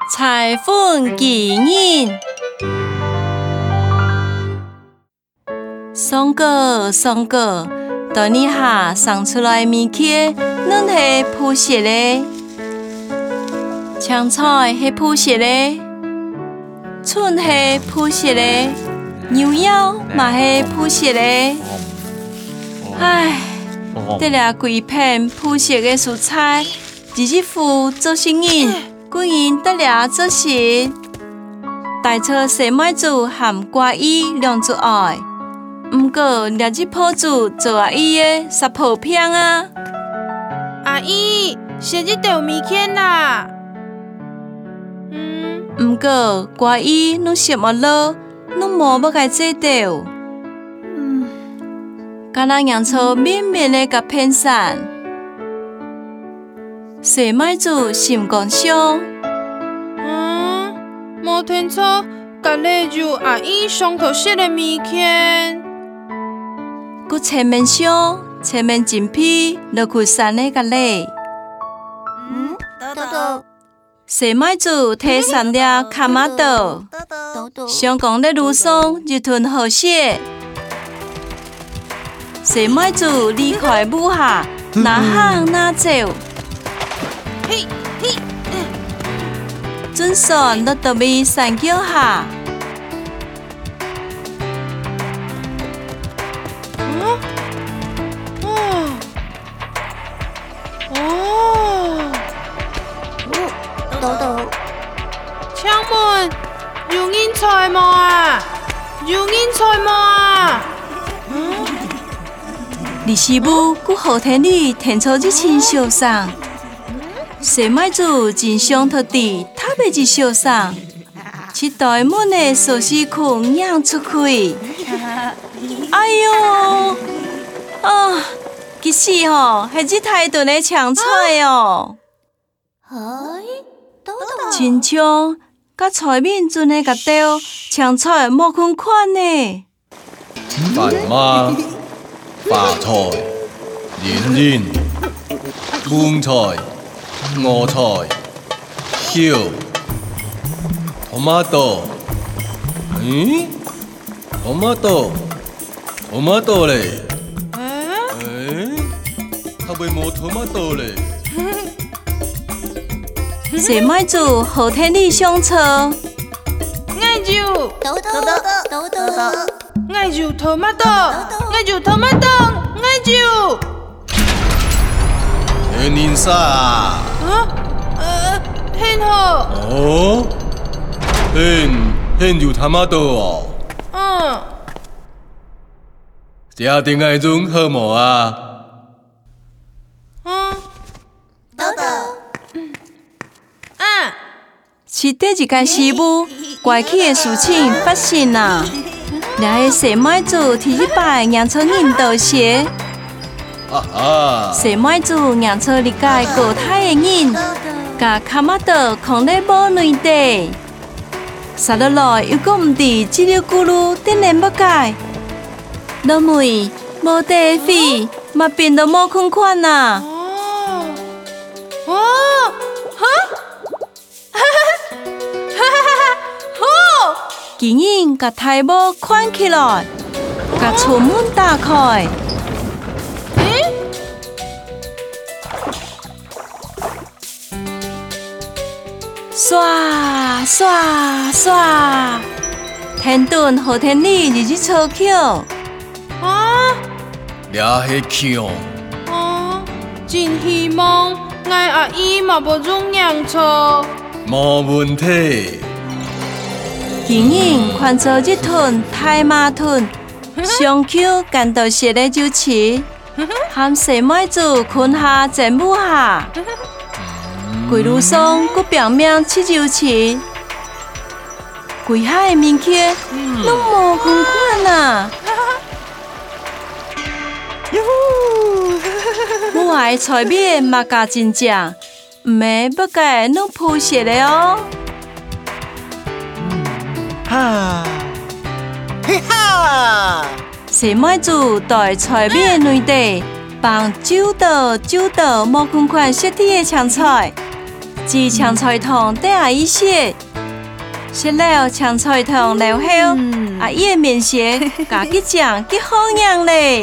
彩粉纪念。松果，在你下送出来的物件，拢是铺色的。青菜是铺色的，蒜是铺色的，牛腰嘛是铺色的。唉，得了规片铺色的蔬菜，日付做生意，几人得了做事。大车西麦子和瓜衣两做爱，不过日铺子做阿姨的杀破片啊！ 阿姨，写这道物件啦。 不过瓜衣拢食无落，拢无要甲做到。敢若洋葱绵绵的甲片散，西麦子心肝香。 无听错，甲例如阿姨上头写的物件。 佮前面香，前面真皮，落去散的甲嘞。 豆。 西麦子摕3粒卡马豆，上讲咧路上一吞好血。西麦子离开母下，哪行哪走。 嘿， 准算落到尾山脚下。 豆。 请问有人在无啊？有人在无啊？ 李师母佮后天里填出一清小送，西麦子真想托地，他袂一小送，一袋满的寿司裤扬出去。哎哟，其实吼，系一大顿的青菜哦。亲像甲菜面阵的甲豆，青菜无款款呢。 饭妈、白菜、莲、青菜、芽菜、姜、tomato， tomato 嘞？他袂无 tomato 嘞？ 西麦子后天里上车， 爱就豆， 爱就 tomato， 爱就 tomato， 爱就。 年啥？ 很好。 很就 tomato 哦。家庭爱种好无啊？ 是第一间师母怪气的事情发生啊！掠个西麦子提一摆洋葱引导鞋，西麦子洋葱里界高太的人，甲卡马豆放咧无内底，杀落来又搁毋知叽里咕噜等然要改，落梅无地费，嘛变到无款款啊！竟然甲台帽款起来，甲厝门打开。刷，天顿后天里日操口。 掠迄枪。 真希望俺阿姨嘛无种洋葱。 无问题。 竟然看做一团太麻团，上口干到湿的就吃，含西麦子困下全部下，规路上佮表面吃就吃，规海的物件拢无款款啊！母爱菜面嘛加真正，唔免要甲弄铺色的哦。西麦子在菜面内底放9道无款款色底的青菜， 煮青菜汤对阿姨食，食了青菜汤了后，阿姨的面色加去酱去好样嘞。